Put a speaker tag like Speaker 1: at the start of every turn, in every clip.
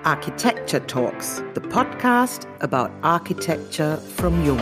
Speaker 1: Architecture Talks, the podcast about architecture from Jung.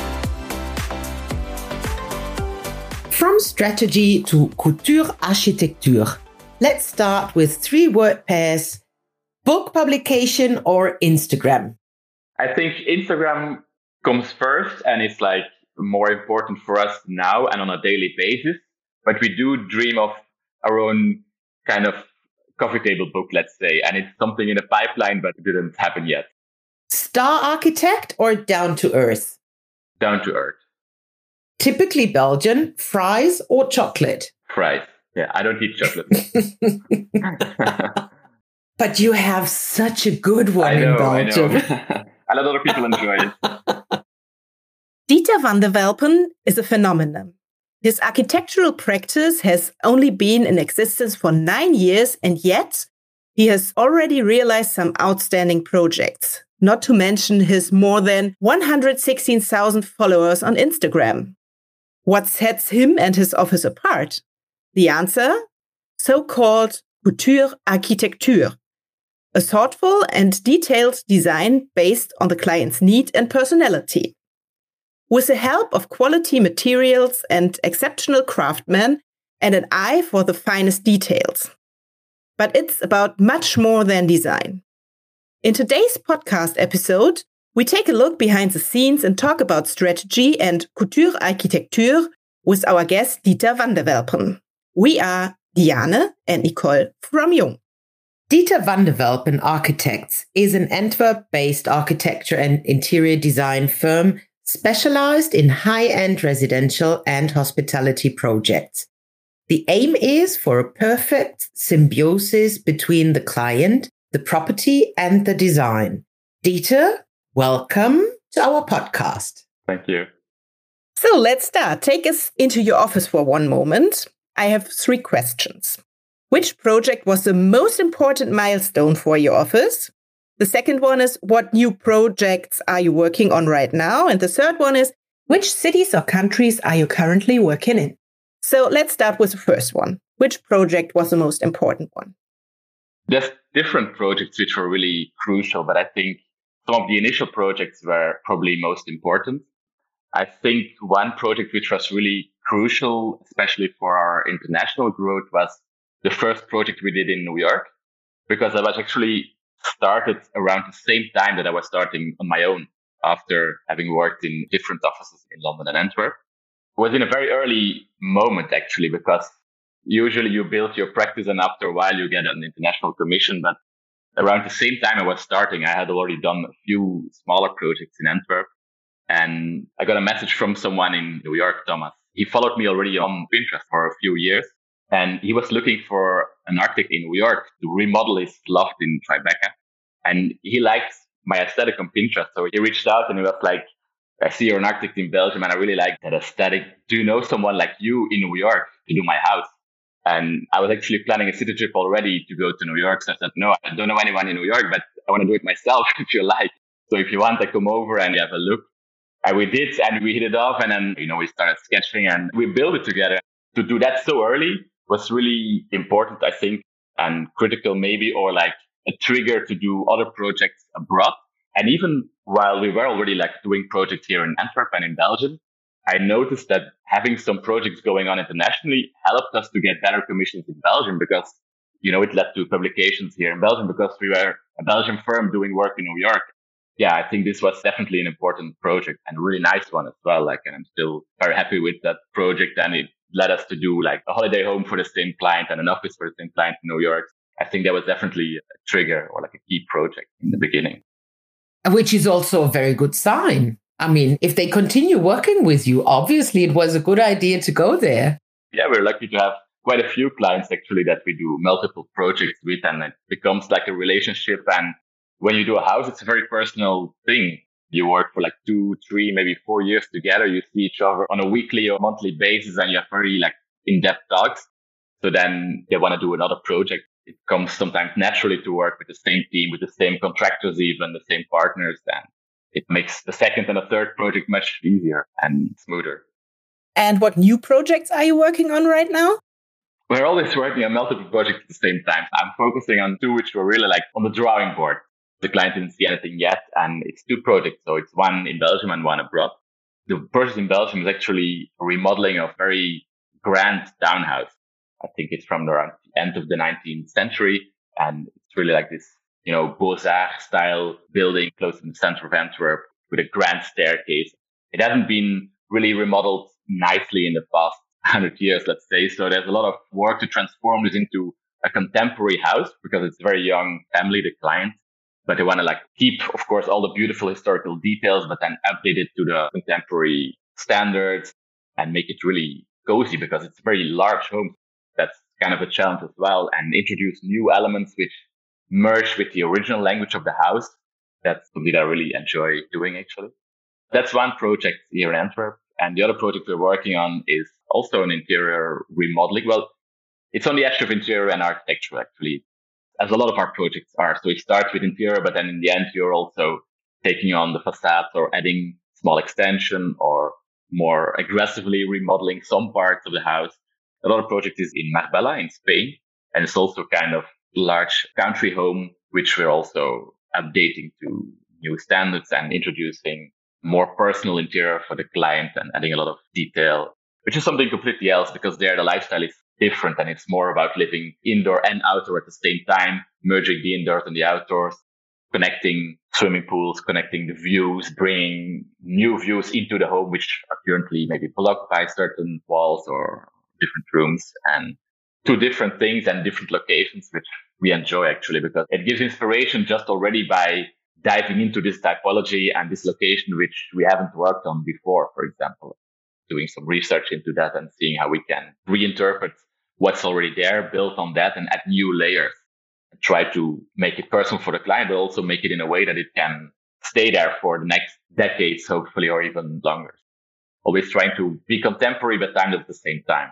Speaker 1: From strategy to couture architecture, let's start with 3 word pairs: book publication or Instagram.
Speaker 2: I think Instagram comes first and it's like more important for us now and on a daily basis. But we do dream of our own kind of coffee table book, let's say, and it's something in the pipeline, but it didn't happen yet.
Speaker 1: Star architect or down to earth?
Speaker 2: Down to earth.
Speaker 1: Typically Belgian, fries or chocolate?
Speaker 2: Fries. Yeah, I don't eat chocolate.
Speaker 1: But you have such a good one in Belgium.
Speaker 2: I let other people enjoy it.
Speaker 3: Dieter van der Welpen is a phenomenon. His architectural practice has only been in existence for 9 years, and yet he has already realized some outstanding projects, not to mention his more than 116,000 followers on Instagram. What sets him and his office apart? The answer? So-called couture architecture, a thoughtful and detailed design based on the client's need and personality. With the help of quality materials and exceptional craftsmen and an eye for the finest details. But it's about much more than design. In today's podcast episode, we take a look behind the scenes and talk about strategy and couture architecture with our guest Dieter van der Welpen. We are Diane and Nicole from Jung.
Speaker 1: Dieter van der Welpen Architects is an Antwerp-based architecture and interior design firm specialized in high-end residential and hospitality projects. The aim is for a perfect symbiosis between the client, the property, and the design. Dieter, welcome to our podcast.
Speaker 2: Thank you.
Speaker 3: So let's start. Take us into your office for one moment. I have 3 questions. Which project was the most important milestone for your office? The second one is, what new projects are you working on right now? And the third one is, which cities or countries are you currently working in? So let's start with the first one. Which project was the most important one?
Speaker 2: There's different projects which were really crucial, but I think some of the initial projects were probably most important. I think one project which was really crucial, especially for our international growth, was the first project we did in New York, because I was actually started around the same time that I was starting on my own after having worked in different offices in London and Antwerp. It was in a very early moment, actually, because usually you build your practice and after a while you get an international commission. But around the same time I was starting, I had already done a few smaller projects in Antwerp. And I got a message from someone in New York, Thomas. He followed me already on Pinterest for a few years. And he was looking for an architect in New York to remodel his loft in Tribeca. And he liked my aesthetic on Pinterest. So he reached out and he was like, I see you're an architect in Belgium and I really like that aesthetic. Do you know someone like you in New York to do my house? And I was actually planning a city trip already to go to New York. So I said, no, I don't know anyone in New York, but I want to do it myself if you like. So if you want, I come over and you have a look. And we did, and we hit it off. And then, we started sketching and we built it together. To do that so early was really important, I think, and critical maybe, or like a trigger to do other projects abroad. And even while we were already like doing projects here in Antwerp and in Belgium, I noticed that having some projects going on internationally helped us to get better commissions in Belgium because, it led to publications here in Belgium because we were a Belgian firm doing work in New York. Yeah, I think this was definitely an important project and a really nice one as well. And I'm still very happy with that project, and it led us to do like a holiday home for the same client and an office for the same client in New York. I think that was definitely a trigger or like a key project in the beginning.
Speaker 1: Which is also a very good sign. I mean, if they continue working with you, obviously it was a good idea to go there.
Speaker 2: Yeah, we're lucky to have quite a few clients actually that we do multiple projects with, and it becomes like a relationship. And when you do a house, it's a very personal thing. You work for like 2, 3, maybe 4 years together. You see each other on a weekly or monthly basis and you have very like in-depth talks. So then they want to do another project. It comes sometimes naturally to work with the same team, with the same contractors, even the same partners. And it makes the second and the third project much easier and smoother.
Speaker 3: And what new projects are you working on right now?
Speaker 2: We're always working on multiple projects at the same time. I'm focusing on 2 which were really like on the drawing board. The client didn't see anything yet. And it's 2 projects. So it's one in Belgium and one abroad. The project in Belgium is actually remodeling a very grand townhouse. I think it's from the end of the 19th century. And it's really like this, Beaux-Arts style building close in the center of Antwerp with a grand staircase. It hasn't been really remodeled nicely in the past 100 years, let's say. So there's a lot of work to transform this into a contemporary house because it's a very young family, the client. But they want to keep, of course, all the beautiful historical details, but then update it to the contemporary standards and make it really cozy because it's a very large home. That's kind of a challenge as well, and introduce new elements which merge with the original language of the house. That's something that I really enjoy doing, actually. That's one project here in Antwerp. And the other project we're working on is also an interior remodeling. Well, it's on the edge of interior and architecture, actually, as a lot of our projects are. So it starts with interior, but then in the end, you're also taking on the facades or adding small extension or more aggressively remodeling some parts of the house. Another project is in Marbella in Spain, and it's also kind of large country home, which we're also updating to new standards and introducing more personal interior for the client and adding a lot of detail, which is something completely else because there the lifestyle is different and it's more about living indoor and outdoor at the same time, merging the indoors and the outdoors, connecting swimming pools, connecting the views, bringing new views into the home, which are currently maybe blocked by certain walls or different rooms, and 2 different things and different locations, which we enjoy actually because it gives inspiration just already by diving into this typology and this location, which we haven't worked on before, for example, doing some research into that and seeing how we can reinterpret what's already there, build on that and add new layers and try to make it personal for the client, but also make it in a way that it can stay there for the next decades, hopefully, or even longer. Always trying to be contemporary, but timed at the same time.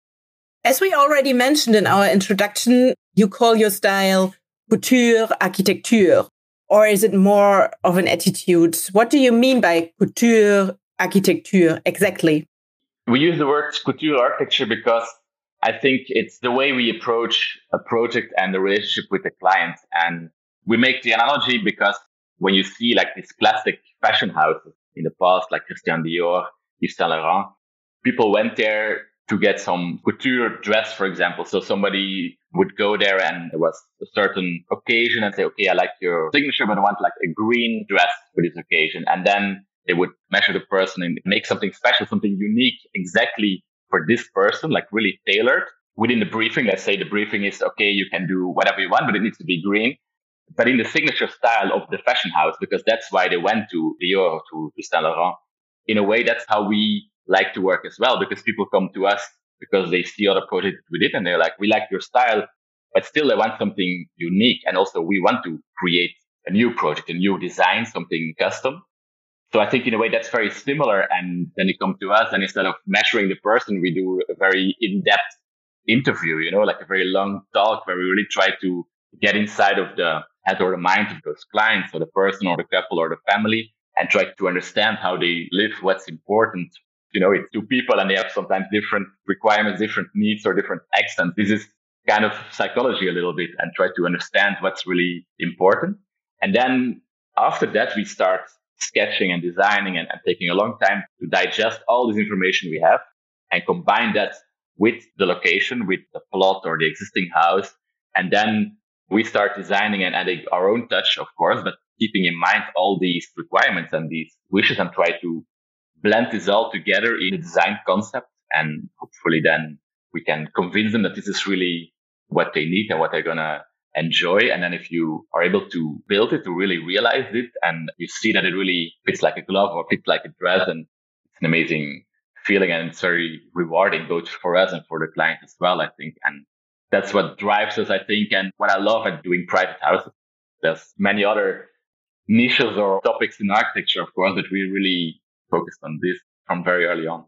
Speaker 3: As we already mentioned in our introduction, you call your style couture architecture, or is it more of an attitude? What do you mean by couture architecture exactly?
Speaker 2: We use the word couture architecture because I think it's the way we approach a project and the relationship with the client. And we make the analogy because when you see these classic fashion houses in the past, like Christian Dior, Yves Saint Laurent, people went there to get some couture dress, for example. So somebody would go there and there was a certain occasion and say, okay, I like your signature, but I want a green dress for this occasion. And then they would measure the person and make something special, something unique exactly for this person, really tailored. Within the briefing, let's say the briefing is, okay, you can do whatever you want, but it needs to be green. But in the signature style of the fashion house, because that's why they went to Dior or to Saint Laurent. In a way, that's how we like to work as well, because people come to us because they see other projects we did and they're like, we like your style, but still they want something unique. And also we want to create a new project, a new design, something custom. So I think in a way that's very similar. And then you come to us and instead of measuring the person, we do a very in-depth interview, a very long talk where we really try to get inside of the head or the mind of those clients or the person or the couple or the family and try to understand how they live, what's important. It's 2 people and they have sometimes different requirements, different needs or different accents. This is kind of psychology a little bit and try to understand what's really important. And then after that, we start sketching and designing and taking a long time to digest all this information we have and combine that with the location, with the plot or the existing house. And then we start designing and adding our own touch, of course, but keeping in mind all these requirements and these wishes and try to blend this all together in a design concept. And hopefully then we can convince them that this is really what they need and what they're going to enjoy. And then if you are able to build it, to really realize it, and you see that it really fits like a glove or fits like a dress, and it's an amazing feeling and it's very rewarding both for us and for the client as well, I think. And that's what drives us, I think. And what I love at doing private houses, there's many other niches or topics in architecture, of course, but we really focused on this from very early on.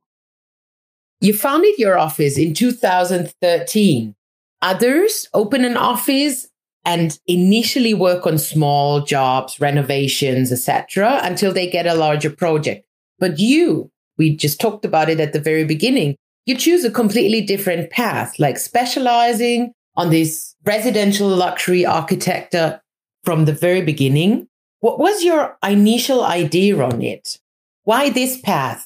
Speaker 1: You founded your office in 2013. Others open an office and initially work on small jobs, renovations, etc., until they get a larger project. But we just talked about it at the very beginning, you choose a completely different path, like specializing on this residential luxury architecture from the very beginning. What was your initial idea on it? Why this path?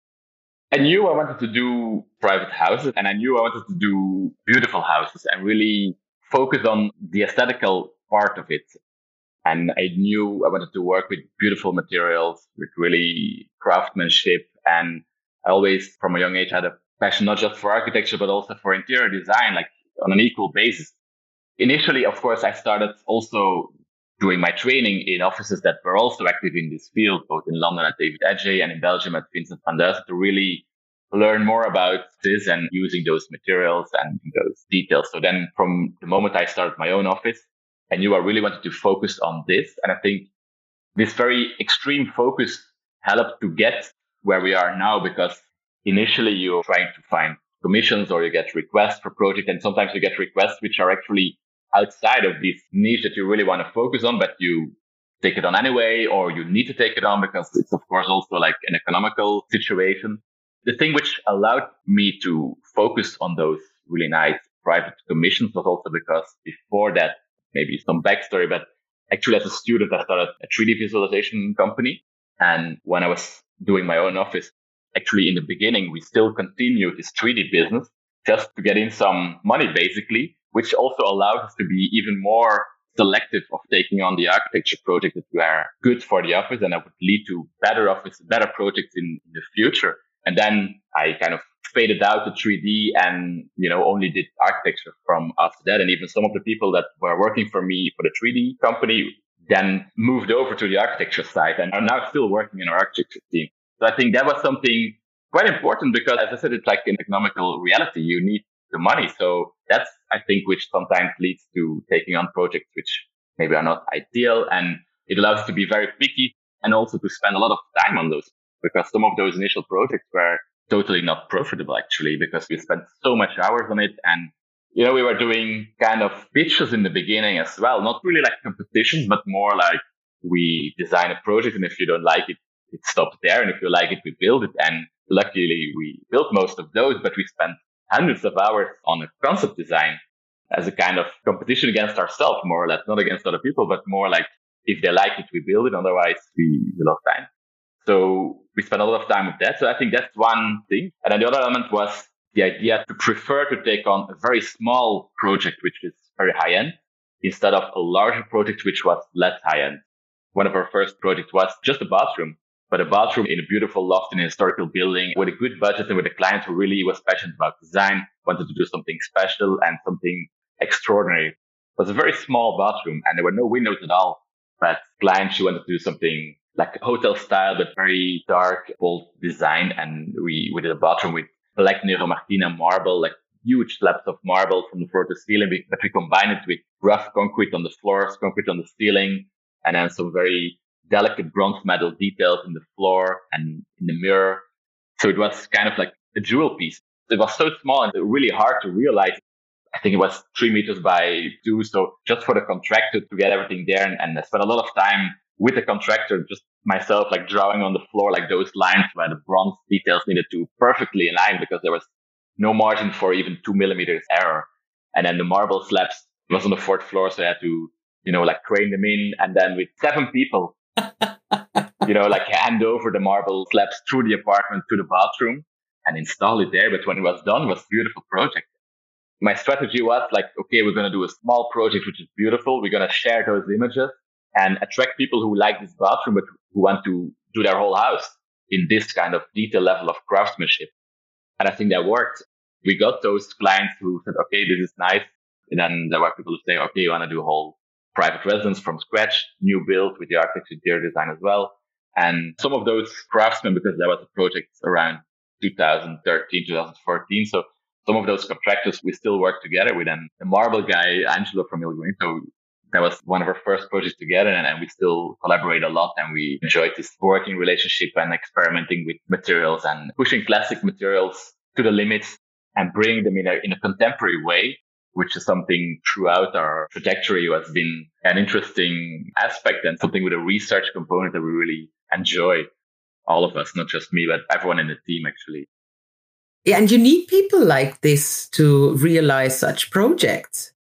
Speaker 2: I knew I wanted to do private houses, and I knew I wanted to do beautiful houses and really focus on the aesthetical part of it. And I knew I wanted to work with beautiful materials, with really craftsmanship. And I always, from a young age, had a passion not just for architecture, but also for interior design, like on an equal basis. Initially, of course, I started also doing my training in offices that were also active in this field, both in London at David Adjaye and in Belgium at Vincent van Duysen, to really learn more about this and using those materials and those details. So then from the moment I started my own office, I knew I really wanted to focus on this. And I think this very extreme focus helped to get where we are now, because initially you're trying to find commissions or you get requests for projects. And sometimes you get requests which are actually outside of this niche that you really want to focus on, but you take it on anyway, or you need to take it on because it's of course also like an economical situation. The thing which allowed me to focus on those really nice private commissions was also because before that, maybe some backstory, but actually as a student, I started a 3D visualization company. And when I was doing my own office, actually in the beginning, we still continued this 3D business just to get in some money, basically, which also allowed us to be even more selective of taking on the architecture projects that were good for the office and that would lead to better projects in the future. And then I kind of faded out the 3D and, only did architecture from after that. And even some of the people that were working for me for the 3D company then moved over to the architecture side and are now still working in our architecture team. So I think that was something quite important because, as I said, it's like an economical reality. You need the money. So that's, I think, which sometimes leads to taking on projects which maybe are not ideal. And it allows us to be very picky and also to spend a lot of time on those, because some of those initial projects were totally not profitable, actually, because we spent so much hours on it. And, we were doing kind of pitches in the beginning as well, not really like competitions, but more like we design a project. And if you don't like it, it stops there. And if you like it, we build it. And luckily we built most of those, but we spent hundreds of hours on a concept design as a kind of competition against ourselves, more or less, not against other people, but more like if they like it, we build it. Otherwise we lost time. So we spent a lot of time with that. So I think that's one thing. And then the other element was the idea to prefer to take on a very small project, which is very high end, instead of a larger project, which was less high end. One of our first projects was just a bathroom, but a bathroom in a beautiful loft in a historical building with a good budget and with a client who really was passionate about design, wanted to do something special and something extraordinary. It was a very small bathroom and there were no windows at all, but client, she wanted to do something like a hotel style, but very dark, bold design. And we did a bathroom with black Nero Martina marble, like huge slabs of marble from the floor to ceiling, but we combined it with rough concrete on the floors, concrete on the ceiling, and then some very delicate bronze metal details in the floor and in the mirror. So it was kind of like a jewel piece. It was so small and really hard to realize. I think it was 3 meters by 2. So just for the contractor to get everything there. And I spent a lot of time with the contractor, just myself, like drawing on the floor, like those lines where the bronze details needed to perfectly align because there was no margin for even 2 millimeters error. And then the marble slabs was on the 4th floor. So I had to, like crane them in. And then with 7 people, like hand over the marble slabs through the apartment to the bathroom and install it there. But when it was done, it was a beautiful project. My strategy was like, okay, we're going to do a small project, which is beautiful. We're going to share those images and attract people who like this bathroom, but who want to do their whole house in this kind of detail level of craftsmanship. And I think that worked. We got those clients who said, okay, this is nice. And then there were people who say, okay, you want to do a whole private residence from scratch, new build with the architect interior design as well. And some of those craftsmen, because there was a project around 2013, 2014. So some of those contractors we still work together with. And the marble guy, Angelo from Il Guinto, that was one of our first projects together. And we still collaborate a lot. And we enjoyed this working relationship and experimenting with materials and pushing classic materials to the limits and bringing them in a contemporary way, which is something throughout our trajectory has been an interesting aspect and something with a research component that we really enjoy, all of us, not just me, but everyone in the team, actually.
Speaker 1: Yeah, and you need people like this to realize such projects.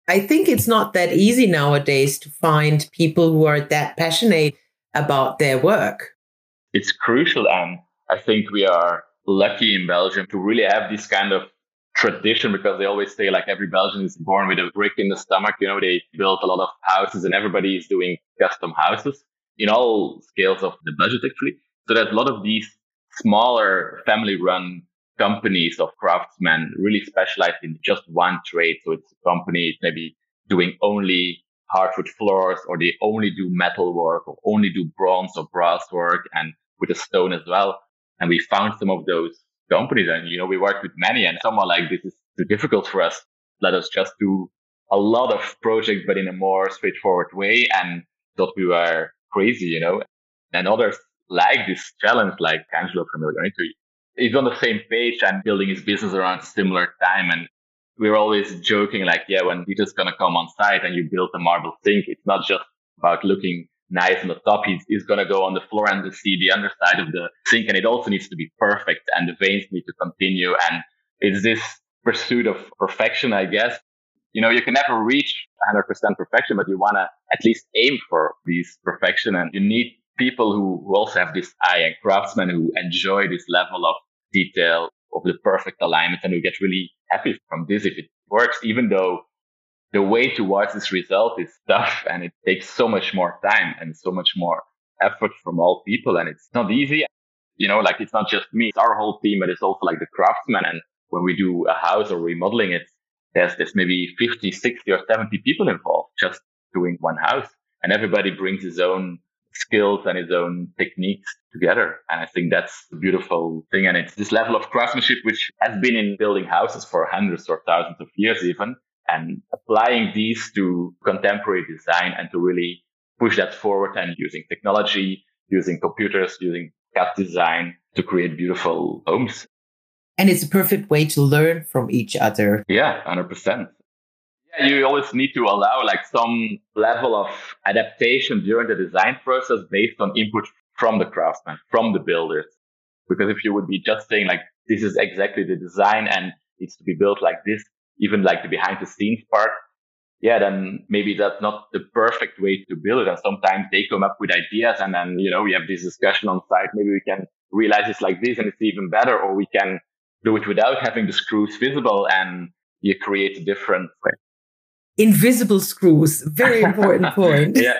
Speaker 1: I think it's not that easy nowadays to find people who are that passionate about their work.
Speaker 2: It's crucial. And I think we are lucky in Belgium to really have this kind of tradition, because they always say like every Belgian is born with a brick in the stomach. You know, they built a lot of houses and everybody is doing custom houses in all scales of the budget, actually. So there's a lot of these smaller family run companies of craftsmen really specialized in just one trade. So it's a company maybe doing only hardwood floors, or they only do metal work, or only do bronze or brass work, and with a stone as well. And we found some of those companies, and we worked with many, and some are like, this is too difficult for us. Let us just do a lot of projects, but in a more straightforward way, and thought we were crazy, And others like this challenge, like Angelo from Illuminati. He's on the same page and building his business around a similar time. And we're always joking like, yeah, when Peter's going to come on site and you build a marble sink, it's not just about looking nice on the top. He's going to go on the floor and see the underside of the sink. And it also needs to be perfect, and the veins need to continue. And it's this pursuit of perfection, I guess. You can never reach 100% perfection, but you want to at least aim for this perfection. And you need people who also have this eye, and craftsmen who enjoy this level of detail of the perfect alignment, and who get really happy from this if it works, even though the way towards this result is tough and it takes so much more time and so much more effort from all people. And it's not easy. Like it's not just me, it's our whole team, but it's also like the craftsmen. And when we do a house or remodeling it, there's maybe 50, 60 or 70 people involved just doing one house. And everybody brings his own skills and his own techniques together. And I think that's a beautiful thing. And it's this level of craftsmanship, which has been in building houses for hundreds or thousands of years even, and applying these to contemporary design and to really push that forward, and using technology, using computers, using CAD design to create beautiful homes.
Speaker 1: And it's a perfect way to learn from each other.
Speaker 2: Yeah, 100%. Yeah, you always need to allow like some level of adaptation during the design process based on input from the craftsmen, from the builders. Because if you would be just saying like, this is exactly the design and it's to be built like this, even like the behind the scenes part, yeah, then maybe that's not the perfect way to build it. And sometimes they come up with ideas, and then, we have this discussion on site. Maybe we can realize it's like this and it's even better, or we can do it without having the screws visible, and you create a different way.
Speaker 1: Invisible screws, very important point.
Speaker 2: Yeah.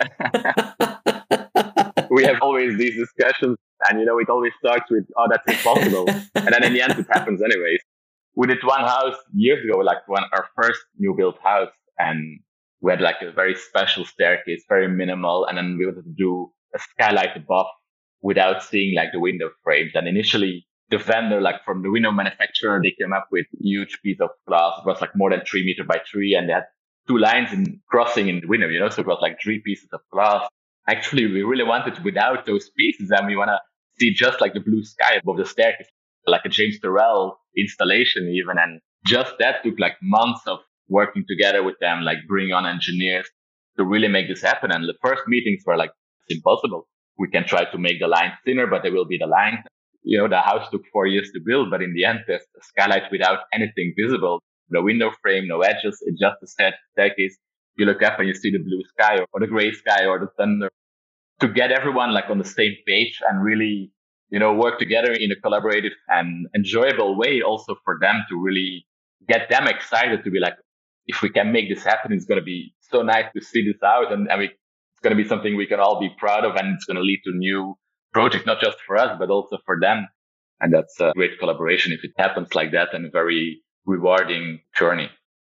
Speaker 2: We have always these discussions, and it always starts with, oh, that's impossible. And then in the end, it happens anyways. We did one house years ago, like our first new built house, and we had like a very special staircase, very minimal. And then we wanted to do a skylight above without seeing like the window frames. And initially the vendor, like from the window manufacturer, they came up with huge piece of glass. It was like more than 3 meters by 3, and they had 2 lines crossing in the window, so it was like 3 pieces of glass. Actually, we really wanted without those pieces, and we want to see just like the blue sky above the staircase, like a James Turrell installation even. And just that took like months of working together with them, like bring on engineers to really make this happen. And the first meetings were like, it's impossible. We can try to make the lines thinner, but they will be the line. The house took 4 years to build, but in the end, there's a skylight without anything visible. No window frame, no edges. It's just a staircase. You look up and you see the blue sky or the gray sky or the thunder. To get everyone like on the same page and really, work together in a collaborative and enjoyable way, also for them to really get them excited to be like, if we can make this happen, it's going to be so nice to see this out. And it's going to be something we can all be proud of. And it's going to lead to new projects, not just for us, but also for them. And that's a great collaboration if it happens like that, and a very rewarding journey.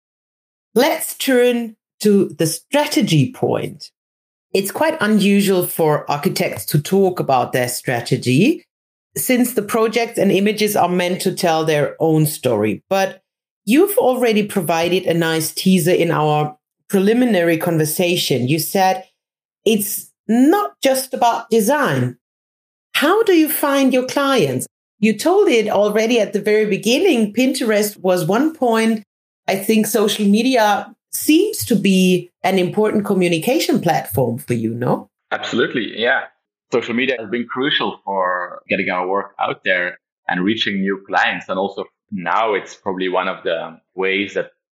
Speaker 1: Let's turn to the strategy point. It's quite unusual for architects to talk about their strategy, since the projects and images are meant to tell their own story. But you've already provided a nice teaser in our preliminary conversation. You said it's not just about design. How do you find your clients? You told it already at the very beginning. Pinterest was one point. I think social media seems to be an important communication platform for you, no?
Speaker 2: Absolutely, yeah. Social media has been crucial for getting our work out there and reaching new clients. And also now it's probably one of the ways that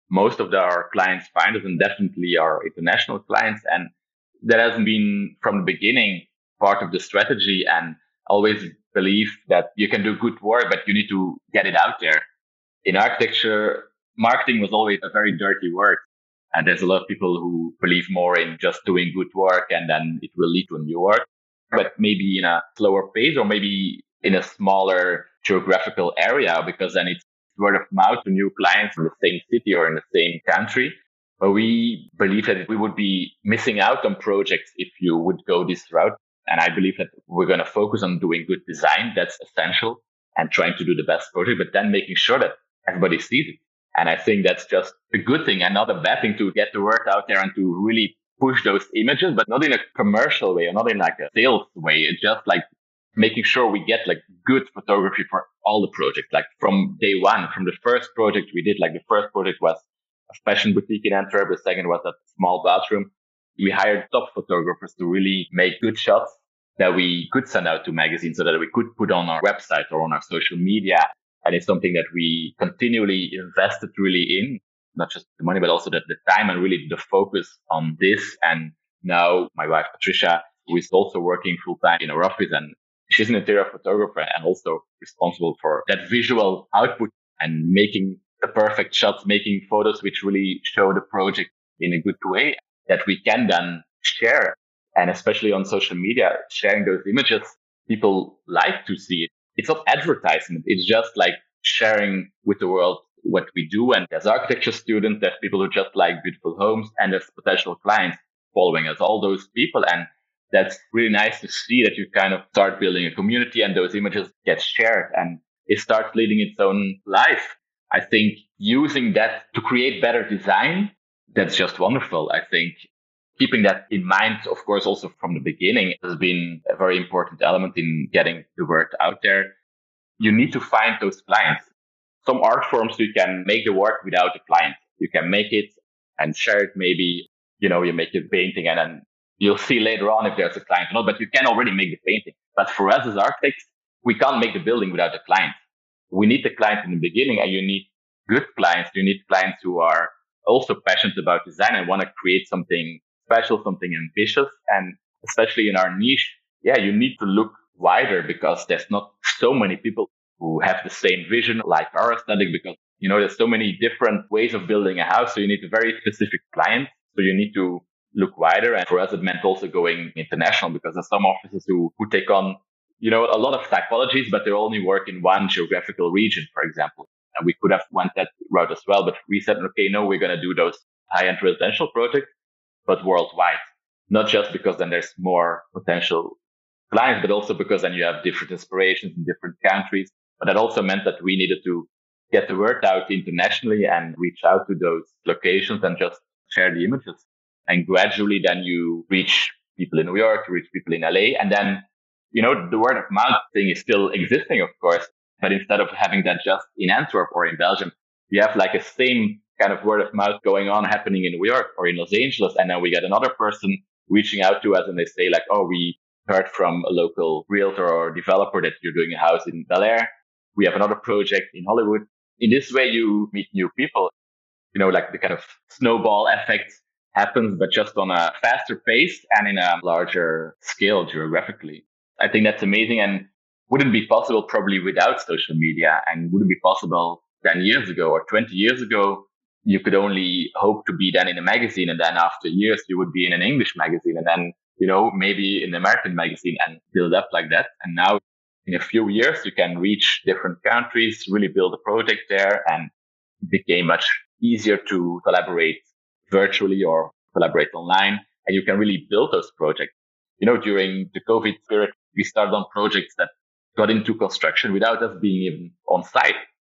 Speaker 2: most of our clients find us, and definitely our international clients. And that hasn't been from the beginning part of the strategy, and always believe that you can do good work, but you need to get it out there. In architecture, marketing was always a very dirty word. And there's a lot of people who believe more in just doing good work and then it will lead to new work, but maybe in a slower pace or maybe in a smaller geographical area, because then it's word of mouth to new clients in the same city or in the same country. But we believe that we would be missing out on projects if you would go this route. And I believe that we're going to focus on doing good design. That's essential, and trying to do the best project, but then making sure that everybody sees it. And I think that's just a good thing and not a bad thing to get the word out there and to really push those images, but not in a commercial way or not in like a sales way. It's just like making sure we get like good photography for all the projects. Like from day one, from the first project we did, like the first project was a fashion boutique in Antwerp. The second was a small bathroom. We hired top photographers to really make good shots that we could send out to magazines so that we could put on our website or on our social media. And it's something that we continually invested really in, not just the money, but also the time and really the focus on this. And now my wife, Patricia, who is also working full time in our office, and she's an interior photographer and also responsible for that visual output and making the perfect shots, making photos which really show the project in a good way that we can then share. And especially on social media, sharing those images, people like to see it. It's not advertisement. It's just like sharing with the world what we do. And as architecture students, there's people who just like beautiful homes, and there's potential clients following us, all those people. And that's really nice to see that you kind of start building a community and those images get shared and it starts leading its own life. I think using that to create better design, that's just wonderful. I think keeping that in mind, of course, also from the beginning has been a very important element in getting the word out there. You need to find those clients. Some art forms, you can make the work without a client. You can make it and share it. Maybe, you make a painting and then you'll see later on if there's a client or not, but you can already make the painting. But for us as architects, we can't make the building without a client. We need the client in the beginning, and you need good clients. You need clients who are also passionate about design and want to create something special, something ambitious. And especially in our niche, you need to look wider because there's not so many people who have the same vision like our aesthetic, because, there's so many different ways of building a house. So you need a very specific client. So you need to look wider. And for us, it meant also going international, because there's some offices who take on, a lot of typologies, but they only work in one geographical region, for example. And we could have went that route as well. But we said, okay, no, we're going to do those high-end residential projects, but worldwide. Not just because then there's more potential clients, but also because then you have different inspirations in different countries. But that also meant that we needed to get the word out internationally and reach out to those locations and just share the images. And gradually then you reach people in New York, you reach people in LA. And then, the word of mouth thing is still existing, of course. But instead of having that just in Antwerp or in Belgium, you have like a same kind of word of mouth going on happening in New York or in Los Angeles. And then we get another person reaching out to us and they say like, oh, we heard from a local realtor or developer that you're doing a house in Bel Air. We have another project in Hollywood. In this way, you meet new people, like the kind of snowball effect happens, but just on a faster pace and in a larger scale geographically. I think that's amazing and wouldn't be possible probably without social media, and wouldn't be possible 10 years ago or 20 years ago. You could only hope to be then in a magazine, and then after years you would be in an English magazine, and then, maybe in an American magazine, and build up like that. And now in a few years, you can reach different countries, really build a project there, and it became much easier to collaborate virtually or collaborate online. And you can really build those projects. During the COVID period, we started on projects that got into construction without us being even on site.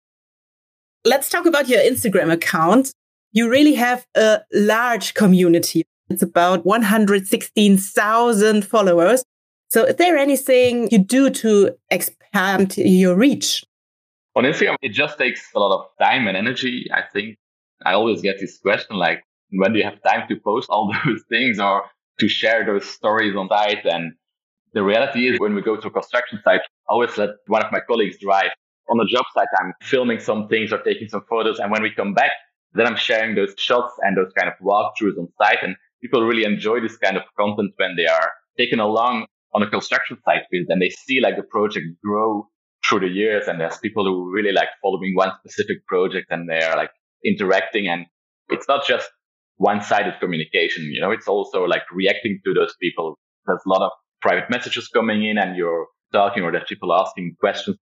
Speaker 3: Let's talk about your Instagram account. You really have a large community. It's about 116,000 followers. So is there anything you do to expand your reach?
Speaker 2: On Instagram, it just takes a lot of time and energy. I think I always get this question like, when do you have time to post all those things or to share those stories on site? And the reality is when we go to a construction site, I always let one of my colleagues drive. On the job site, I'm filming some things or taking some photos. And when we come back, Then I'm sharing those shots and those kind of walkthroughs on site. And people really enjoy this kind of content when they are taken along on a construction site visit and they see like the project grow through the years. And there's people who really like following one specific project and they're like interacting. And it's not just one-sided communication, it's also like reacting to those people. There's a lot of private messages coming in and you're talking, or there's people asking questions.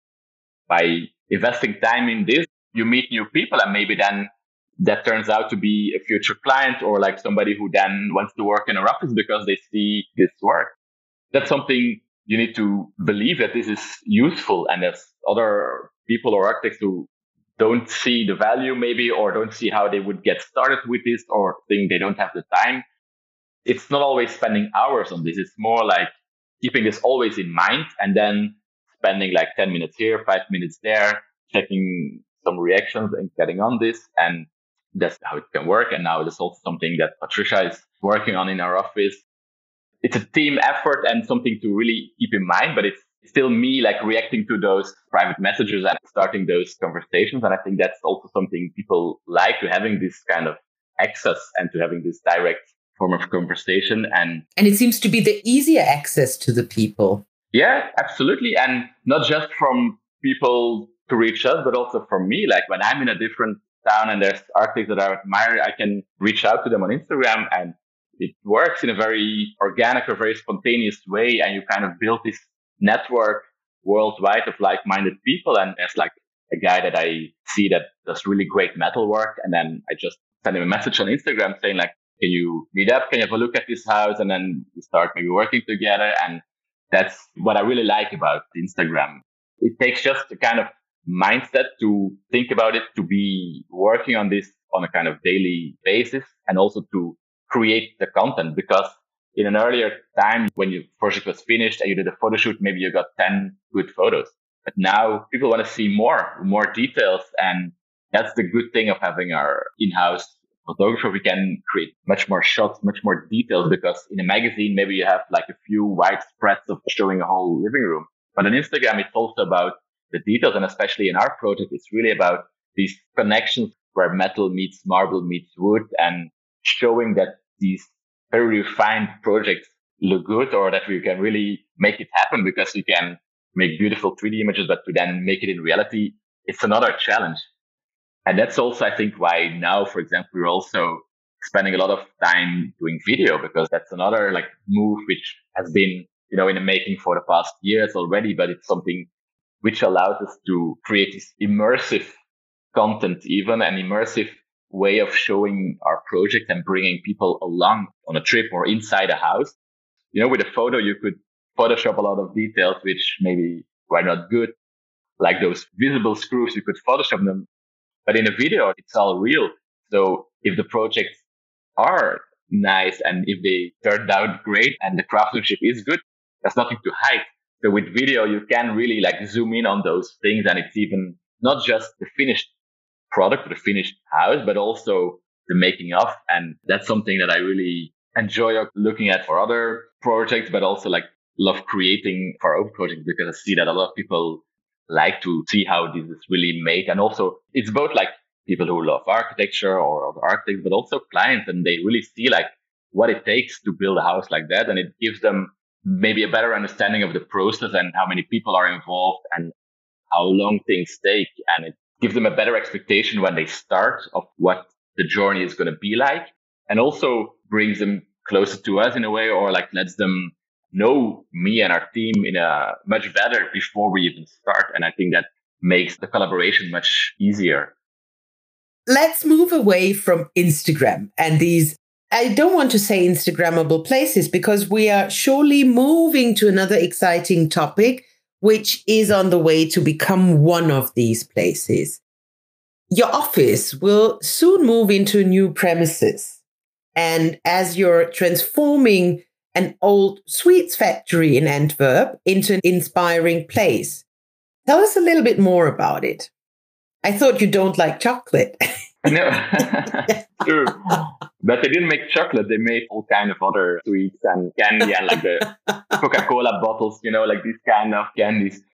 Speaker 2: By investing time in this, you meet new people, and maybe then that turns out to be a future client or like somebody who then wants to work in our office because they see this work. That's something you need to believe that this is useful. And there's other people or architects who don't see the value maybe, or don't see how they would get started with this, or think they don't have the time. It's not always spending hours on this. It's more like keeping this always in mind and then spending like 10 minutes here, 5 minutes there, checking some reactions and getting on this. And that's how it can work. And now there's also something that Patricia is working on in our office. It's a team effort and something to really keep in mind, but it's still me like reacting to those private messages and starting those conversations. And I think that's also something people like, to having this kind of access and to having this direct form of conversation. And
Speaker 1: it seems to be the easier access to the people.
Speaker 2: Yeah, absolutely. And not just from people to reach us, but also from me. Like when I'm in a different town and there's architects that I admire, I can reach out to them on Instagram, and it works in a very organic or very spontaneous way. And you kind of build this network worldwide of like-minded people. And there's like a guy that I see that does really great metal work. And then I just send him a message on Instagram saying like, can you meet up? Can you have a look at this house? And then we start maybe working together. And that's what I really like about Instagram. It takes just a kind of mindset to think about it, to be working on this on a kind of daily basis, and also to create the content. Because in an earlier time, when your project was finished and you did a photo shoot, maybe you got 10 good photos. But now people want to see more details. And that's the good thing of having our in-house photographer. We can create much more shots, much more details, because in a magazine, maybe you have like a few wide spreads of showing a whole living room. But on Instagram, it's also about the details. And especially in our project, it's really about these connections where metal meets marble meets wood, and showing that these very refined projects look good, or that we can really make it happen, because you can make beautiful 3D images, but to then make it in reality, it's another challenge. And that's also, I think, why now, for example, we're also spending a lot of time doing video, because that's another like move which has been, in the making for the past years already, but it's something which allows us to create this immersive content, even an immersive way of showing our project and bringing people along on a trip or inside a house. With a photo, you could Photoshop a lot of details which maybe were not good, like those visible screws, you could Photoshop them. But in a video, it's all real. So if the projects are nice and if they turned out great and the craftsmanship is good, there's nothing to hide. So with video, you can really like zoom in on those things. And it's even not just the finished product, the finished house, but also the making of. And that's something that I really enjoy looking at for other projects, but also like love creating for our own projects, because I see that a lot of people like to see how this is really made. And also it's both like people who love architecture or other architects, but also clients, and they really see like what it takes to build a house like that. And it gives them maybe a better understanding of the process and how many people are involved and how long things take. And it gives them a better expectation when they start of what the journey is going to be like, and also brings them closer to us in a way, or like lets them know me and our team in a much better before we even start. And I think that makes the collaboration much easier.
Speaker 1: Let's move away from Instagram and these, I don't want to say Instagrammable places, because we are surely moving to another exciting topic, which is on the way to become one of these places. Your office will soon move into new premises. And as you're transforming an old sweets factory in Antwerp into an inspiring place, tell us a little bit more about it. I thought you don't like chocolate.
Speaker 2: No, true. But they didn't make chocolate. They made all kind of other sweets and candy and like the Coca-Cola bottles, like these kind of candies.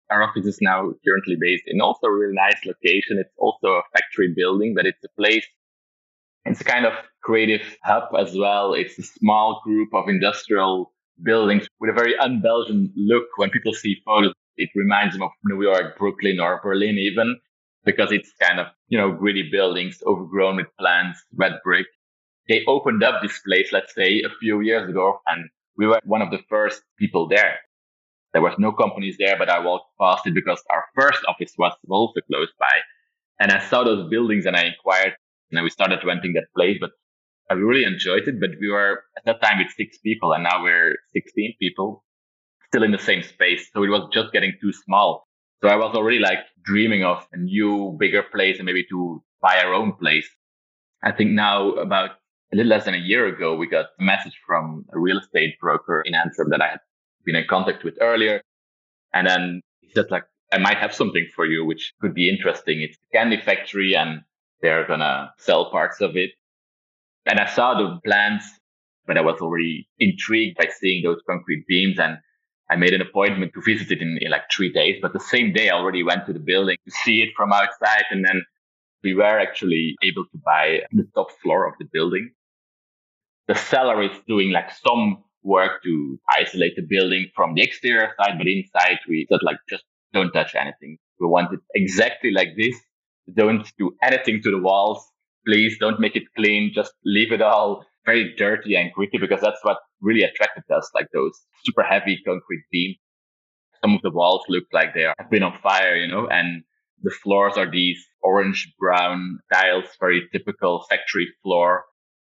Speaker 2: our office is now currently based in also a really nice location. It's also a factory building, but it's a place. It's a kind of creative hub as well. It's a small group of industrial buildings with a very un-Belgian look. When people see photos, it reminds them of New York, Brooklyn, or Berlin even, because it's kind of, gritty buildings overgrown with plants, red brick. They opened up this place, let's say, a few years ago, and we were one of the first people there. There was no companies there, but I walked past it because our first office was also close by. And I saw those buildings and I inquired, and we started renting that place, but I really enjoyed it. But we were at that time with 6 people, and now we're 16 people still in the same space. So it was just getting too small. So I was already like dreaming of a new, bigger place and maybe to buy our own place. I think now about a little less than a year ago, we got a message from a real estate broker in Antwerp that I had been in contact with earlier. And then he said, like, I might have something for you, which could be interesting. It's a candy factory and they're going to sell parts of it. And I saw the plans, but I was already intrigued by seeing those concrete beams. And I made an appointment to visit it in like 3 days. But the same day, I already went to the building to see it from outside. And then we were actually able to buy the top floor of the building. The seller is doing like some work to isolate the building from the exterior side, but inside we said like, just don't touch anything. We want it exactly like this. Don't do anything to the walls. Please don't make it clean. Just leave it all very dirty and gritty, because that's what really attracted us, like those super heavy concrete beams. Some of the walls look like they have been on fire, and the floors are these orange brown tiles, very typical factory floor.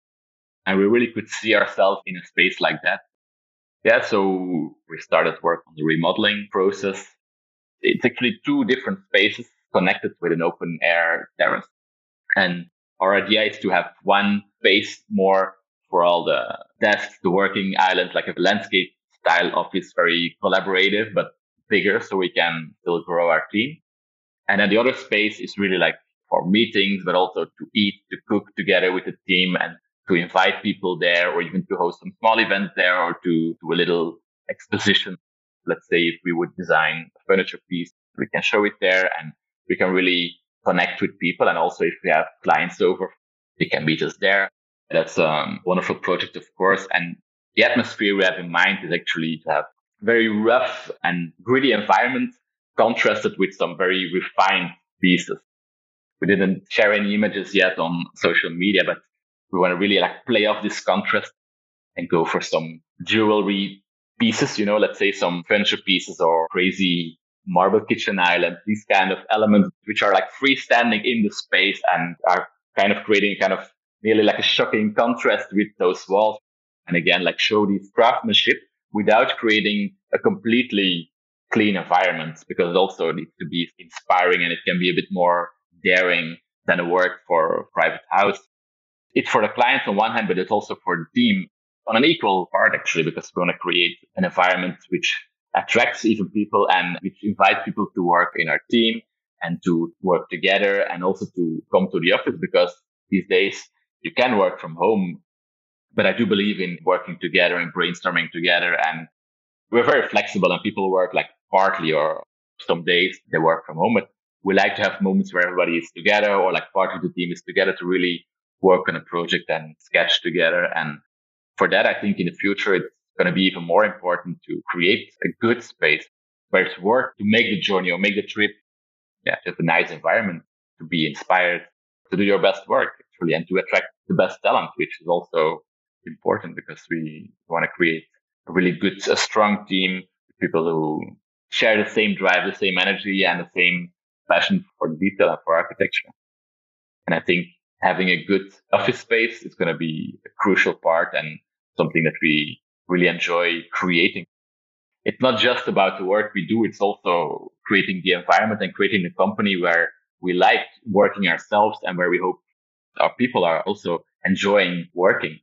Speaker 2: And we really could see ourselves in a space like that. Yeah, so we started work on the remodeling process. It's actually 2 different spaces connected with an open air terrace. And our idea is to have one space more for all the desks, the working islands, like a landscape style office, very collaborative, but bigger, so we can still grow our team. And then the other space is really like for meetings, but also to eat, to cook together with the team, and to invite people there, or even to host some small events there, or to do a little exposition. Let's say if we would design a furniture piece, we can show it there and we can really connect with people. And also if we have clients over, they can meet us there. That's a wonderful project, of course. And the atmosphere we have in mind is actually to have very rough and gritty environment contrasted with some very refined pieces. We didn't share any images yet on social media, but we want to really like play off this contrast and go for some jewelry pieces, let's say some furniture pieces or crazy marble kitchen island, these kind of elements which are like freestanding in the space and are kind of creating kind of nearly like a shocking contrast with those walls. And again, like show this craftsmanship without creating a completely clean environment, because it also needs to be inspiring and it can be a bit more daring than a work for a private house. It's for the clients on one hand, but it's also for the team on an equal part, actually, because we want to create an environment which attracts even people and which invites people to work in our team and to work together and also to come to the office, because these days you can work from home. But I do believe in working together and brainstorming together. And we're very flexible and people work like partly, or some days they work from home. But we like to have moments where everybody is together, or like part of the team is together to really work on a project and sketch together. And for that, I think in the future, it's going to be even more important to create a good space where it's worth to make the journey or make the trip. Yeah, just a nice environment to be inspired to do your best work, actually, and to attract the best talent, which is also important because we want to create a really good, a strong team, people who share the same drive, the same energy, and the same passion for detail and for architecture. And I think having a good office space is going to be a crucial part and something that we really enjoy creating. It's not just about the work we do. It's also creating the environment and creating the company where we like working ourselves and where we hope our people are also enjoying working.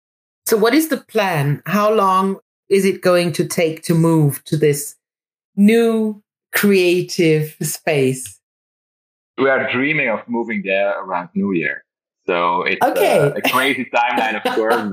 Speaker 1: So what is the plan? How long is it going to take to move to this new creative space?
Speaker 2: We are dreaming of moving there around New Year. So it's a crazy timeline, of course.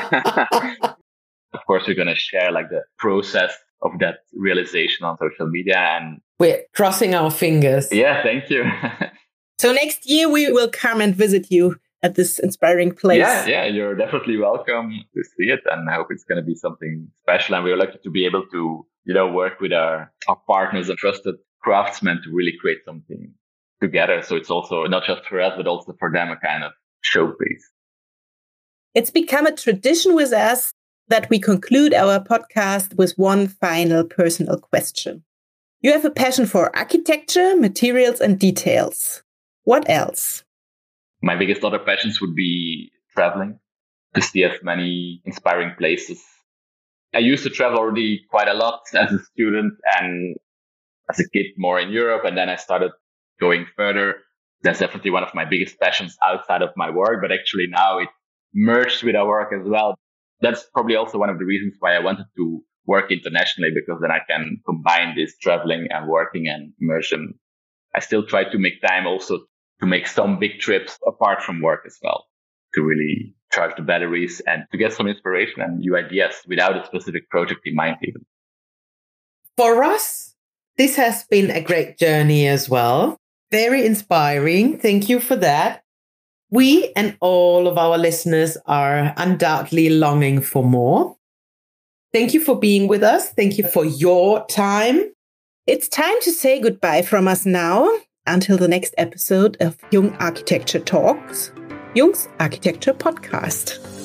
Speaker 2: But of course, we're going to share like the process of that realization on social media. And
Speaker 1: We're crossing our fingers.
Speaker 2: Yeah, thank you.
Speaker 3: So next year we will come and visit you at this inspiring place.
Speaker 2: Yeah, you're definitely welcome to see it. And I hope it's going to be something special. And we're lucky to be able to, work with our partners and trusted craftsmen to really create something together. So it's also not just for us, but also for them a kind of showpiece.
Speaker 3: It's become a tradition with us that we conclude our podcast with one final personal question. You have a passion for architecture, materials, and details. What else?
Speaker 2: My biggest other passions would be traveling, to see as many inspiring places. I used to travel already quite a lot as a student and as a kid more in Europe. And then I started going further. That's definitely one of my biggest passions outside of my work, but actually now it merged with our work as well. That's probably also one of the reasons why I wanted to work internationally, because then I can combine this traveling and working and immersion. I still try to make time also to make some big trips apart from work as well, to really charge the batteries and to get some inspiration and new ideas without a specific project in mind even.
Speaker 1: For us, this has been a great journey as well. Very inspiring. Thank you for that. We and all of our listeners are undoubtedly longing for more. Thank you for being with us. Thank you for your time.
Speaker 3: It's time to say goodbye from us now. Until the next episode of Jung Architecture Talks, Jung's Architecture Podcast.